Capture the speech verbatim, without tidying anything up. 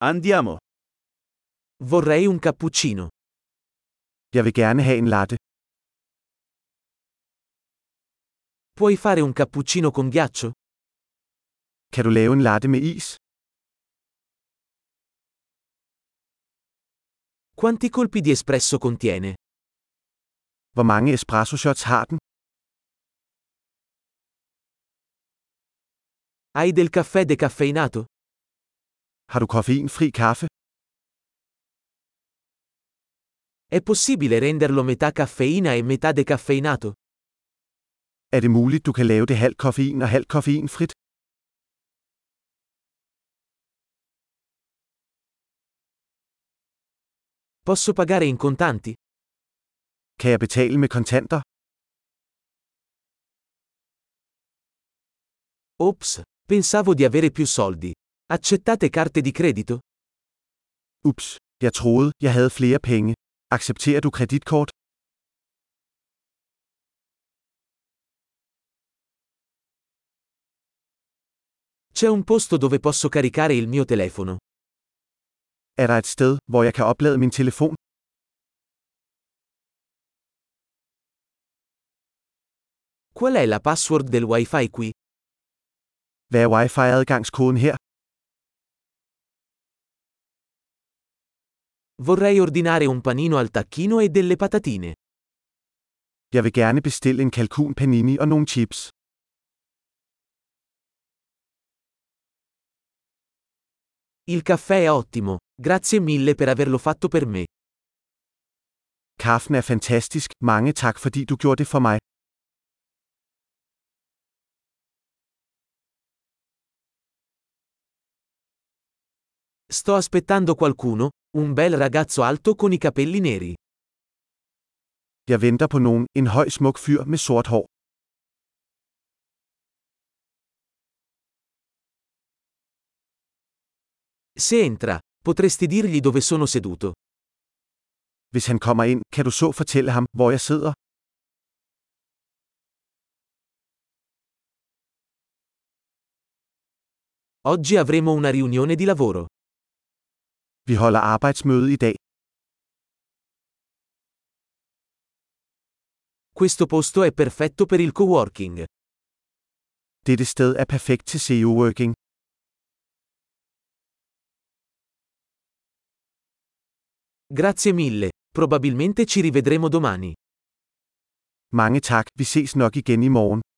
Andiamo. Vorrei un cappuccino. Jeg vil gerne have en latte. Puoi fare un cappuccino con ghiaccio? Kan du lave en latte med is? Quanti colpi di espresso contiene? Hvor mange espresso shots har den? Hai del caffè decaffeinato? Har du koffeinfri kaffe? È possibile renderlo metà caffeina e metà decaffeinato? Er det muligt, du kan lave det halvt koffein og halvt koffeinfrit? Posso pagare in contanti? Kan jeg betale med kontanter? Ops, pensavo di avere più soldi. Accettate carte di credito? Ups, jeg troede, jeg havde flere penge. Accepterer du kreditkort? C'è un posto dove posso caricare il mio telefono. Er der et sted, hvor jeg kan oplade min telefon? Qual è la password del Wi-Fi qui? Hvad er wifi-adgangskoden her? Vorrei ordinare un panino al tacchino e delle patatine. Jeg vil gerne bestille en kalkun panini og nogle chips. Il caffè è ottimo, grazie mille per averlo fatto per me. Kaffen er fantastisk, mange tak fordi du gjorde det for mig. Sto aspettando qualcuno, un bel ragazzo alto con i capelli neri. Jeg venter på nogen, en høj smuk fyr med sort hår. Se entra, potresti dirgli dove sono seduto. Hvis han kommer ind, kan du så fortælle ham, hvor jeg sidder? Oggi avremo una riunione di lavoro. Vi holder arbejdsmøde i dag. Questo posto è perfetto per il coworking. Dette sted er perfekt til S E O-working. Grazie mille, probabilmente ci rivedremo domani. Mange tak, vi ses nok igen i morgen.